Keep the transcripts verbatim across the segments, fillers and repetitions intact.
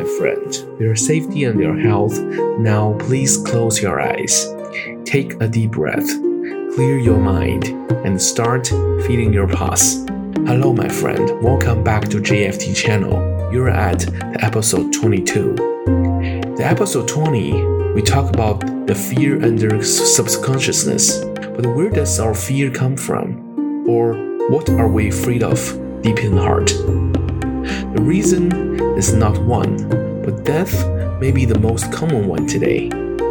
my friend. For your safety and your health, now please close your eyes. Take a deep breath, clear your mind, and start feeling your pulse. Hello, my friend. Welcome back to J F T channel. You're at the episode twenty-two. The episode twenty, we talk about the fear under subconsciousness. But where does our fear come from? Or what are we afraid of deep in the heart? The reason is not one, but death may be the most common one today.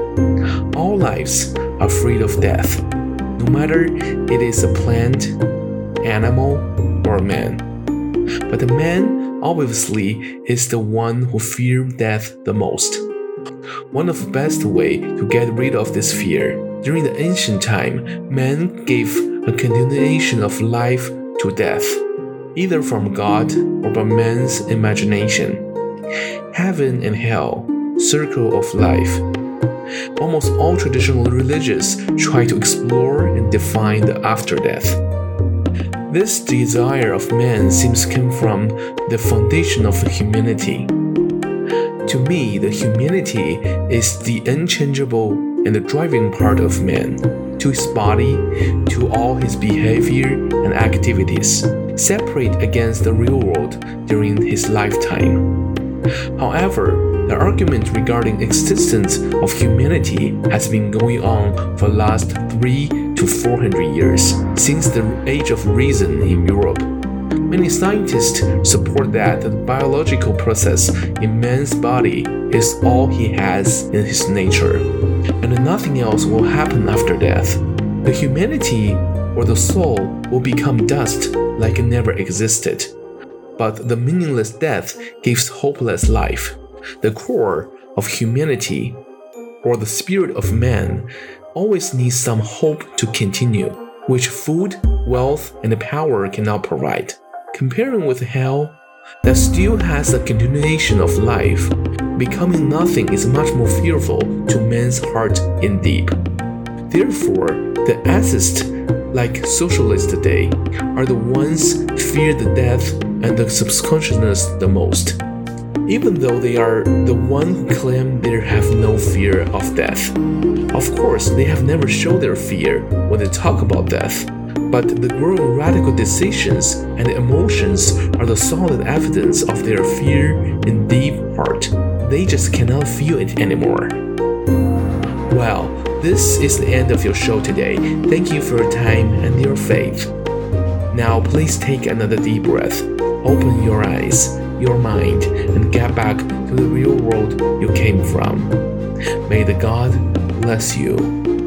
All lives are afraid of death, no matter it is a plant, animal, or a man. But the man, obviously, is the one who fears death the most. One of the best ways to get rid of this fear, during the ancient time, man gave a continuation of life to death, either from God or by man's imagination. Heaven and hell, circle of life. Almost all traditional religions try to explore and define the after death. This desire of man seems to come from the foundation of humanity. To me, the humanity is the unchangeable and the driving part of man, to his body, to all his behavior and activities, separate against the real world during his lifetime. However, the argument regarding existence of humanity has been going on for the last three to four hundred years, since the Age of Reason in Europe. Many scientists support that the biological process in man's body is all he has in his nature, and nothing else will happen after death. The humanity or the soul will become dust like it never existed. But the meaningless death gives hopeless life. The core of humanity, or the spirit of man, always needs some hope to continue, which food, wealth, and power cannot provide. Comparing with hell, that still has a continuation of life, becoming nothing is much more fearful to man's heart in deep. Therefore, the atheists, like socialists today, are the ones fear the death and the subconsciousness the most, even though they are the ones who claim they have no fear of death. Of course, they have never shown their fear when they talk about death, but the growing radical decisions and emotions are the solid evidence of their fear in deep heart. They just cannot feel it anymore. Well, this is the end of your show today. Thank you for your time and your faith. Now please take another deep breath. Open your eyes, your mind, and get back to the real world you came from. May the God bless you.